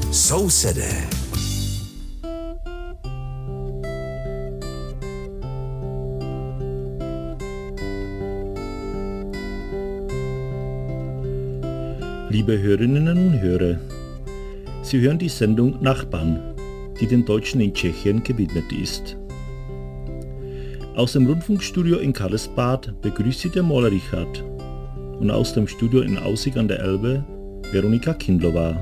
Sousedé. Liebe Hörerinnen und Hörer, Sie hören die Sendung Nachbarn, die den Deutschen in Tschechien gewidmet ist. Aus dem Rundfunkstudio in Karlsbad begrüßt Sie der Maler Richard und aus dem Studio in Aussig an der Elbe Veronika Kindlova.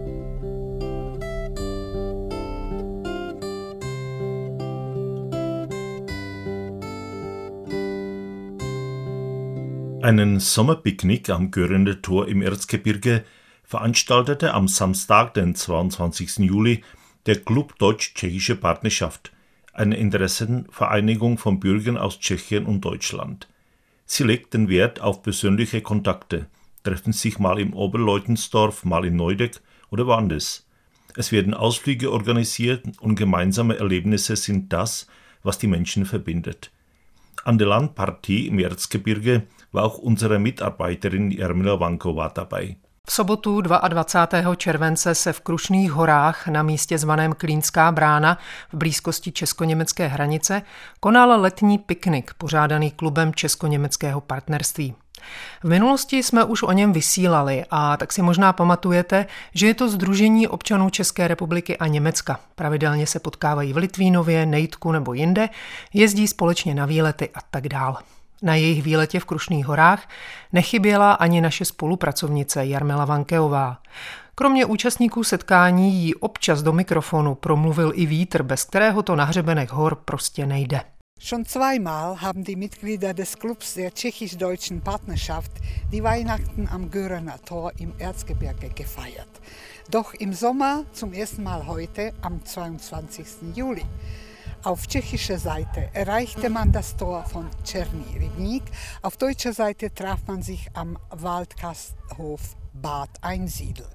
Einen Sommerpicknick am Göhrener Tor im Erzgebirge veranstaltete am Samstag, den 22. Juli, der Club Deutsch-Tschechische Partnerschaft, eine Interessenvereinigung von Bürgern aus Tschechien und Deutschland. Sie legt den Wert auf persönliche Kontakte, treffen sich mal im Oberleutensdorf, mal in Neudeck oder woanders. Es werden Ausflüge organisiert und gemeinsame Erlebnisse sind das, was die Menschen verbindet. An der Landpartie im Erzgebirge war auch unsere Mitarbeiterin Jarmila Vanková dabei. V sobotu 22. července se v Krušných horách na místě zvaném Klínská brána v blízkosti česko-německé hranice konal letní piknik pořádaný klubem česko-německého partnerství. V minulosti jsme už o něm vysílali a tak si možná pamatujete, že je to sdružení občanů České republiky a Německa. Pravidelně se potkávají v Litvínově, Nejdku nebo jinde, jezdí společně na výlety a tak dál. Na jejich výletě v Krušných horách nechyběla ani naše spolupracovnice Jarmila Vankeová. Kromě účastníků setkání jí občas do mikrofonu promluvil i vítr, bez kterého to na hřebenech hor prostě nejde. Schon zweimal haben die Mitglieder des Clubs der tschechisch-deutschen Partnerschaft die Weihnachten am Göhrener Tor im Erzgebirge gefeiert. Doch im Sommer zum ersten Mal heute, am 22. Juli. Auf tschechischer Seite erreichte man das Tor von Černý rybník, auf deutscher Seite traf man sich am Waldgasthof Bad Einsiedl.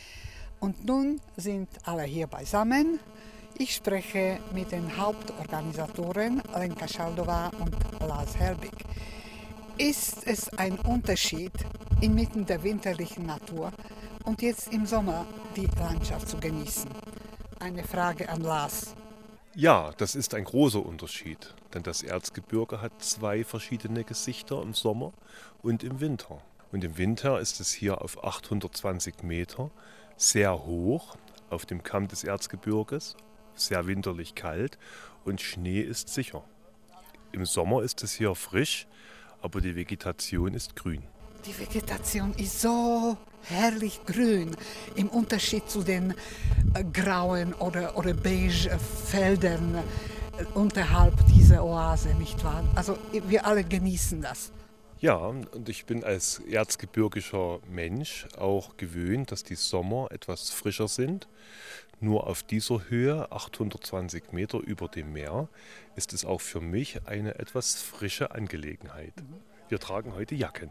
Und nun sind alle hier beisammen. Ich spreche mit den Hauptorganisatoren Lenka Schaldová und Lars Helbig. Ist es ein Unterschied, inmitten der winterlichen Natur und jetzt im Sommer die Landschaft zu genießen? Eine Frage an Lars. Ja, das ist ein großer Unterschied, denn das Erzgebirge hat zwei verschiedene Gesichter im Sommer und im Winter. Und im Winter ist es hier auf 820 Meter sehr hoch auf dem Kamm des Erzgebirges, sehr winterlich kalt und Schnee ist sicher. Im Sommer ist es hier frisch, aber die Vegetation ist grün. Die Vegetation ist so herrlich grün, im Unterschied zu den grauen oder beige Feldern unterhalb dieser Oase, nicht wahr? Also wir alle genießen das. Ja, und ich bin als erzgebirgischer Mensch auch gewöhnt, dass die Sommer etwas frischer sind. Nur auf dieser Höhe, 820 Meter über dem Meer, ist es auch für mich eine etwas frische Angelegenheit. Wir tragen heute Jacken.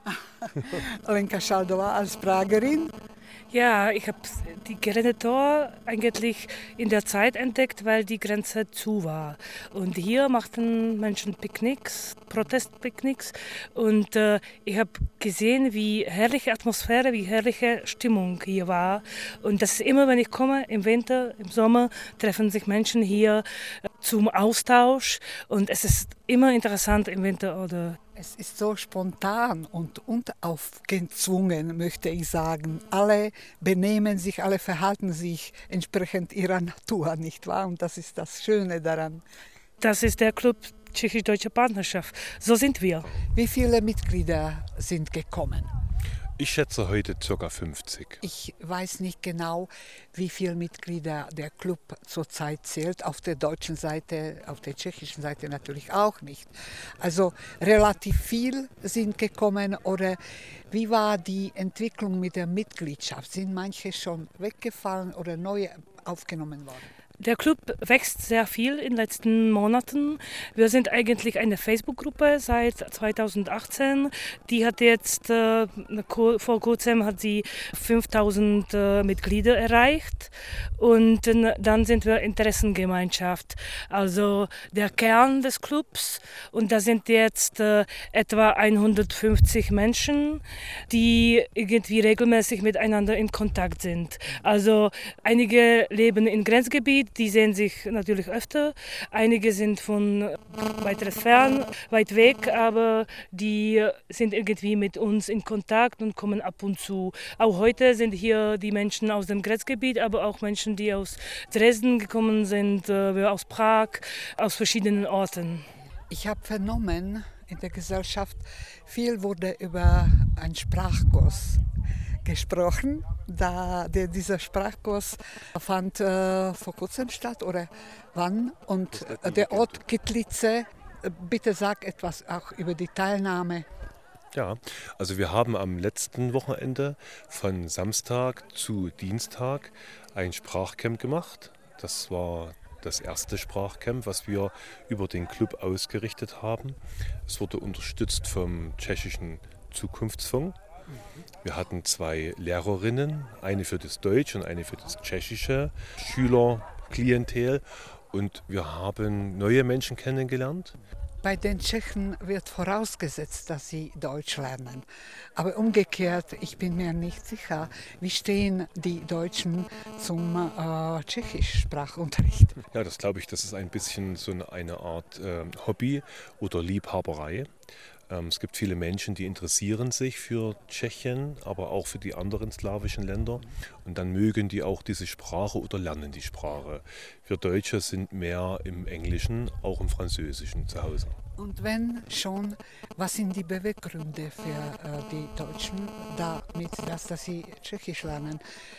Lenka Schaldová als Pragerin. Ja, ich habe die Göhrener Tor eigentlich in der Zeit entdeckt, weil die Grenze zu war. Und hier machten Menschen Picknicks, Protestpicknicks. Und ich habe gesehen, wie herrliche Atmosphäre, wie herrliche Stimmung hier war. Und das ist immer, wenn ich komme, im Winter, im Sommer, treffen sich Menschen hier zum Austausch. Und es ist immer interessant im Winter oder. Es ist so spontan und unaufgezwungen, möchte ich sagen. Alle benehmen sich, alle verhalten sich entsprechend ihrer Natur, nicht wahr? Und das ist das Schöne daran. Das ist der Club Tschechisch-Deutsche Partnerschaft. So sind wir. Wie viele Mitglieder sind gekommen? Ich schätze heute ca. 50. Ich weiß nicht genau, wie viele Mitglieder der Club zurzeit zählt. Auf der deutschen Seite, auf der tschechischen Seite natürlich auch nicht. Also relativ viel sind gekommen. Oder wie war die Entwicklung mit der Mitgliedschaft? Sind manche schon weggefallen oder neue aufgenommen worden? Der Club wächst sehr viel in den letzten Monaten. Wir sind eigentlich eine Facebook-Gruppe seit 2018. Die hat jetzt, vor kurzem hat sie 5.000 Mitglieder erreicht. Und dann sind wir Interessengemeinschaft, also der Kern des Clubs. Und da sind jetzt etwa 150 Menschen, die irgendwie regelmäßig miteinander in Kontakt sind. Also einige leben im Grenzgebiet, die sehen sich natürlich öfter. Einige sind von weit weg, aber die sind irgendwie mit uns in Kontakt und kommen ab und zu. Auch heute sind hier die Menschen aus dem Grenzgebiet, aber auch Menschen, die aus Dresden gekommen sind, aus Prag, aus verschiedenen Orten. Ich habe vernommen, in der Gesellschaft viel wurde über einen Sprachkurs gesprochen. Dieser Sprachkurs fand vor kurzem statt oder wann? Und der Ort Kitlice, bitte sag etwas auch über die Teilnahme. Ja, also wir haben am letzten Wochenende von Samstag zu Dienstag ein Sprachcamp gemacht. Das war das erste Sprachcamp, was wir über den Club ausgerichtet haben. Es wurde unterstützt vom tschechischen Zukunftsfonds. Wir hatten 2 Lehrerinnen, eine für das Deutsch und eine für das tschechische Schülerklientel. Und wir haben neue Menschen kennengelernt. Bei den Tschechen wird vorausgesetzt, dass sie Deutsch lernen. Aber umgekehrt, ich bin mir nicht sicher, wie stehen die Deutschen zum Tschechischsprachunterricht. Ja, das glaube ich, das ist ein bisschen so eine Art Hobby oder Liebhaberei. Es gibt viele Menschen, die interessieren sich für Tschechien, aber auch für die anderen slawischen Länder. Und dann mögen die auch diese Sprache oder lernen die Sprache. Wir Deutsche sind mehr im Englischen, auch im Französischen zu Hause. Und wenn schon, was sind die Beweggründe für die Deutschen damit, dass sie Tschechisch lernen?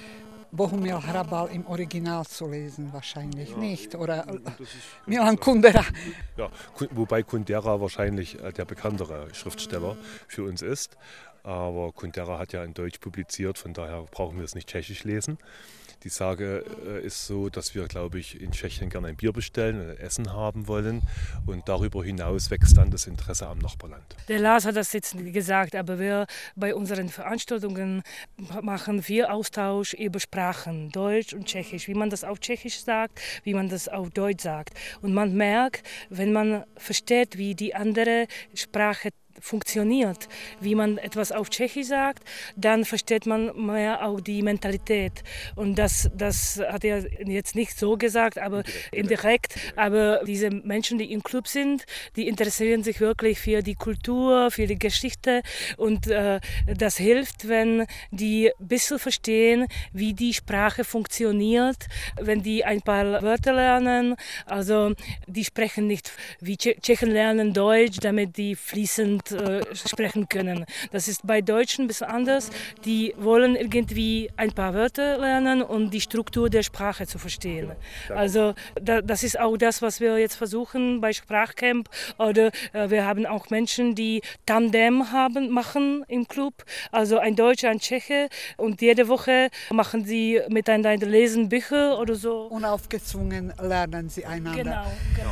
Bohumil Hrabal im Original zu lesen, wahrscheinlich nicht. Oder Milan Kundera. Ja, wobei Kundera wahrscheinlich der bekanntere Schriftsteller für uns ist. Aber Kundera hat ja in Deutsch publiziert, von daher brauchen wir es nicht tschechisch lesen. Die Sage ist so, dass wir, glaube ich, in Tschechien gerne ein Bier bestellen und ein Essen haben wollen. Und darüber hinaus wächst dann das Interesse am Nachbarland. Der Lars hat das jetzt gesagt, aber wir bei unseren Veranstaltungen machen viel Austausch über Sprachen, Deutsch und Tschechisch, wie man das auf Tschechisch sagt, wie man das auf Deutsch sagt. Und man merkt, wenn man versteht, wie die andere Sprache funktioniert, wie man etwas auf Tschechisch sagt, dann versteht man mehr auch die Mentalität. Und das hat er jetzt nicht so gesagt, aber indirekt. Aber diese Menschen, die im Club sind, die interessieren sich wirklich für die Kultur, für die Geschichte. Und das hilft, wenn die ein bisschen verstehen, wie die Sprache funktioniert, wenn die ein paar Wörter lernen. Also die sprechen nicht wie Tschechen lernen Deutsch, damit die fließend sprechen können. Das ist bei Deutschen ein bisschen anders. Die wollen irgendwie ein paar Wörter lernen und die Struktur der Sprache zu verstehen. Also das ist auch das, was wir jetzt versuchen bei Sprachcamp. Oder wir haben auch Menschen, die Tandem machen im Club. Also ein Deutscher, ein Tscheche. Und jede Woche machen sie miteinander lesen Bücher oder so. Unaufgezwungen lernen sie einander. Genau.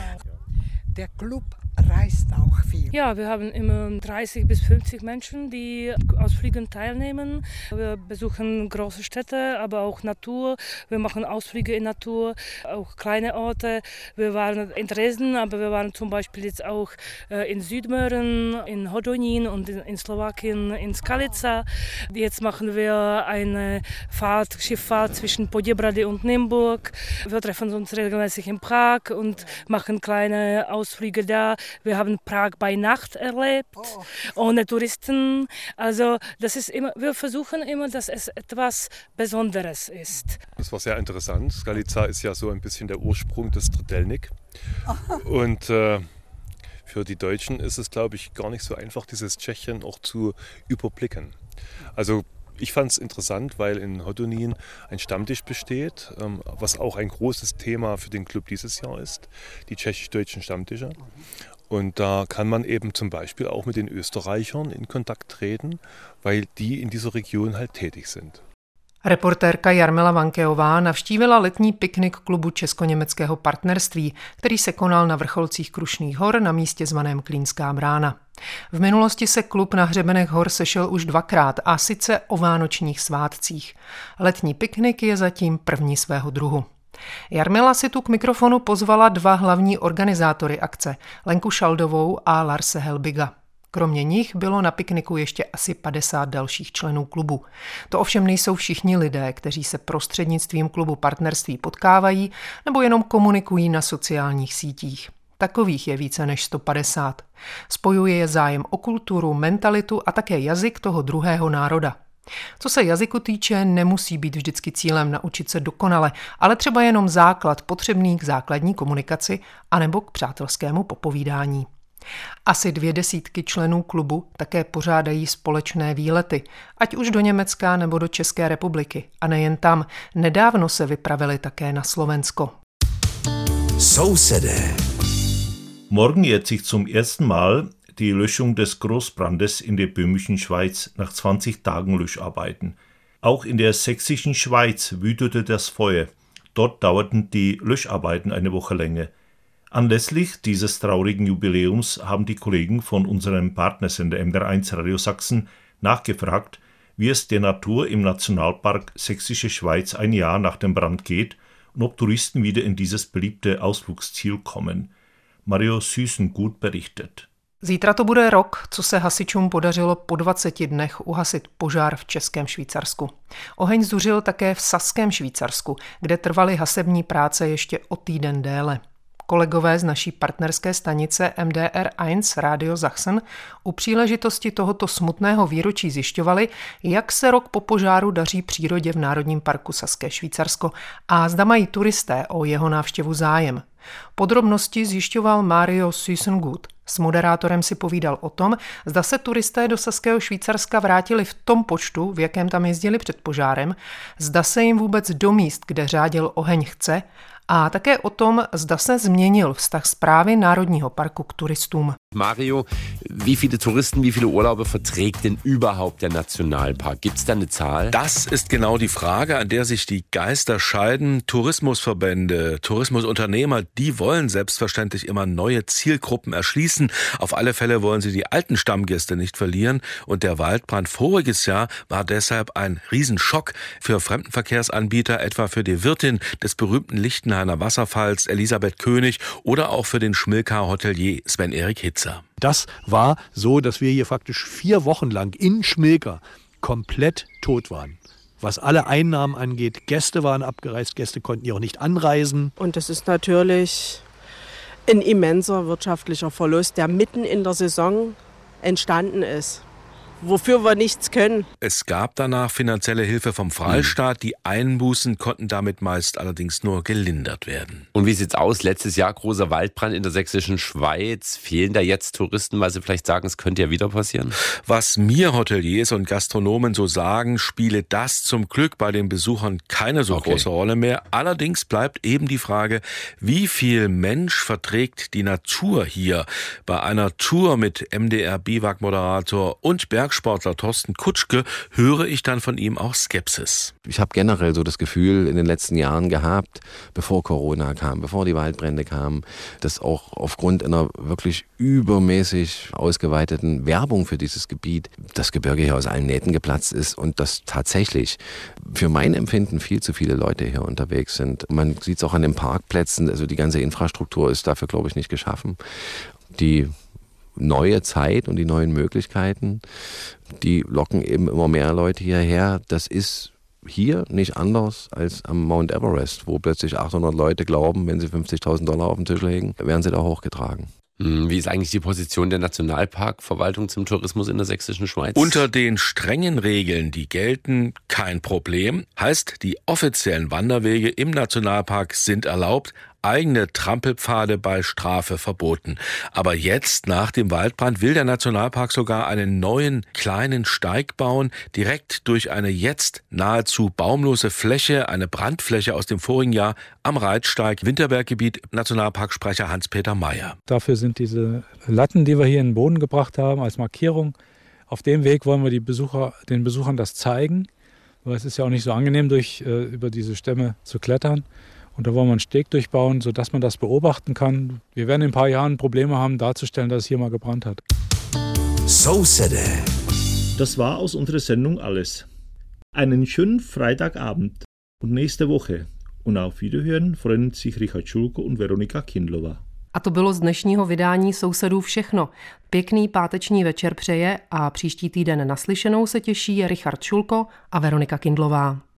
Der Club reist auch viel. Ja, wir haben immer 30 bis 50 Menschen, die Ausflügen teilnehmen. Wir besuchen große Städte, aber auch Natur. Wir machen Ausflüge in Natur, auch kleine Orte. Wir waren in Dresden, aber wir waren zum Beispiel jetzt auch in Südmähren, in Hodonín und in Slowakien, in Skalica. Jetzt machen wir eine Schifffahrt zwischen Poděbrady und Nymburk. Wir treffen uns regelmäßig in Prag und machen kleine Ausflüge da. Wir haben Prag bei Nacht erlebt, ohne Touristen. Also das ist immer, wir versuchen immer, dass es etwas Besonderes ist. Das war sehr interessant. Skalica ist ja so ein bisschen der Ursprung des Trdelník. Und für die Deutschen ist es, glaube ich, gar nicht so einfach, dieses Tschechien auch zu überblicken. Also ich fand es interessant, weil in Hodonín ein Stammtisch besteht, was auch ein großes Thema für den Club dieses Jahr ist, die tschechisch-deutschen Stammtische. Und da kann man eben zum Beispiel auch mit den Österreichern in Kontakt treten, weil die in dieser Region halt tätig sind. Reportérka Jarmila Vankeová navštívila letní piknik klubu Česko-německého partnerství, který se konal na vrcholcích Krušných hor na místě zvaném Klínská brána. V minulosti se klub na hřebenech hor sešel už 2krát, a sice o vánočních svátcích. Letní piknik je zatím první svého druhu. Jarmila si tu k mikrofonu pozvala 2 hlavní organizátory akce, Lenku Šaldovou a Larse Helbiga. Kromě nich bylo na pikniku ještě asi 50 dalších členů klubu. To ovšem nejsou všichni lidé, kteří se prostřednictvím klubu partnerství potkávají nebo jenom komunikují na sociálních sítích. Takových je více než 150. Spojuje je zájem o kulturu, mentalitu a také jazyk toho druhého národa. Co se jazyku týče, nemusí být vždycky cílem naučit se dokonale, ale třeba jenom základ potřebný k základní komunikaci anebo k přátelskému popovídání. Asi 200 členů klubu také pořádají společné výlety, ať už do Německa nebo do České republiky. A nejen tam, nedávno se vypravili také na Slovensko. Sousedé. Morgen jährt sich zum ersten Mal die Löschung des Großbrandes in der böhmischen Schweiz nach 20 Tagen Löscharbeiten. Auch in der sächsischen Schweiz wütete das Feuer. Dort dauerten die Löscharbeiten eine Woche länger. Anlässlich dieses traurigen Jubiläums haben die Kollegen von unserem Partnersender MDR1 Radio Sachsen nachgefragt, wie es der Natur im Nationalpark Sächsische Schweiz ein Jahr nach dem Brand geht und ob Touristen wieder in dieses beliebte Ausflugsziel kommen. Mario Süßengut berichtet. Zítra to bude rok, co se hasičům podařilo po 20 dnech uhasit požár v Českém Švýcarsku. Oheň zuřil také v Saském Švýcarsku, kde trvaly hasební práce ještě o týden déle. Kolegové z naší partnerské stanice MDR1 Radio Sachsen u příležitosti tohoto smutného výročí zjišťovali, jak se rok po požáru daří přírodě v Národním parku Saské Švýcarsko a zda mají turisté o jeho návštěvu zájem. Podrobnosti zjišťoval Mario Süßengut. S moderátorem si povídal o tom, zda se turisté do Saského Švýcarska vrátili v tom počtu, v jakém tam jezdili před požárem, zda se jim vůbec do míst, kde řádil oheň, chce, a také o tom, zda se změnil vztah správy Národního parku k turistům. Mario, wie viele Touristen, wie viele Urlauber verträgt denn überhaupt der Nationalpark? Gibt es da eine Zahl? Das ist genau die Frage, an der sich die Geister scheiden. Tourismusverbände, Tourismusunternehmer, die wollen selbstverständlich immer neue Zielgruppen erschließen. Auf alle Fälle wollen sie die alten Stammgäste nicht verlieren. Und der Waldbrand voriges Jahr war deshalb ein Riesenschock für Fremdenverkehrsanbieter, etwa für die Wirtin des berühmten Lichtenhainer Wasserfalls Elisabeth König oder auch für den Schmilka-Hotelier Sven-Erik Hitzer. Das war so, dass wir hier faktisch 4 Wochen lang in Schmilka komplett tot waren. Was alle Einnahmen angeht, Gäste waren abgereist, Gäste konnten hier auch nicht anreisen. Und das ist natürlich ein immenser wirtschaftlicher Verlust, der mitten in der Saison entstanden ist. Wofür wir nichts können. Es gab danach finanzielle Hilfe vom Freistaat. Die Einbußen konnten damit meist allerdings nur gelindert werden. Und wie sieht's aus? Letztes Jahr großer Waldbrand in der Sächsischen Schweiz. Fehlen da jetzt Touristen, weil sie vielleicht sagen, es könnte ja wieder passieren? Was mir Hoteliers und Gastronomen so sagen, spiele das zum Glück bei den Besuchern keine so große Rolle mehr. Allerdings bleibt eben die Frage, wie viel Mensch verträgt die Natur hier? Bei einer Tour mit MDR-Biwak-Moderator und Bergsportler Thorsten Kutschke höre ich dann von ihm auch Skepsis. Ich habe generell so das Gefühl in den letzten Jahren gehabt, bevor Corona kam, bevor die Waldbrände kamen, dass auch aufgrund einer wirklich übermäßig ausgeweiteten Werbung für dieses Gebiet das Gebirge hier aus allen Nähten geplatzt ist und dass tatsächlich für mein Empfinden viel zu viele Leute hier unterwegs sind. Man sieht es auch an den Parkplätzen, also die ganze Infrastruktur ist dafür, glaube ich, nicht geschaffen. Die neue Zeit und die neuen Möglichkeiten, die locken eben immer mehr Leute hierher. Das ist hier nicht anders als am Mount Everest, wo plötzlich 800 Leute glauben, wenn sie $50.000 auf den Tisch legen, werden sie da hochgetragen. Wie ist eigentlich die Position der Nationalparkverwaltung zum Tourismus in der Sächsischen Schweiz? Unter den strengen Regeln, die gelten, kein Problem. Heißt, die offiziellen Wanderwege im Nationalpark sind erlaubt, eigene Trampelpfade bei Strafe verboten. Aber jetzt, nach dem Waldbrand, will der Nationalpark sogar einen neuen kleinen Steig bauen, direkt durch eine jetzt nahezu baumlose Fläche, eine Brandfläche aus dem vorigen Jahr am Reitsteig, Winterberggebiet, Nationalparksprecher Hans-Peter Meyer. Dafür sind diese Latten, die wir hier in den Boden gebracht haben, als Markierung. Auf dem Weg wollen wir den Besuchern das zeigen, weil es ist ja auch nicht so angenehm, über diese Stämme zu klettern. Und da wollen wir einen Steg durchbauen, sodass man das beobachten kann. Wir werden in ein paar Jahren Probleme haben, darzustellen, dass es hier mal gebrannt hat. So City. Das war aus unserer Sendung alles. Einen schönen Freitagabend und nächste Woche. Und auf Wiederhören freuen sich Richard Schulko und Veronika Kindlová. A to bylo z dnešního vydání Sousedů všechno. Pěkný páteční večer přeje a příští týden naslyšenou se těší Richard Šulko a Veronika Kindlová.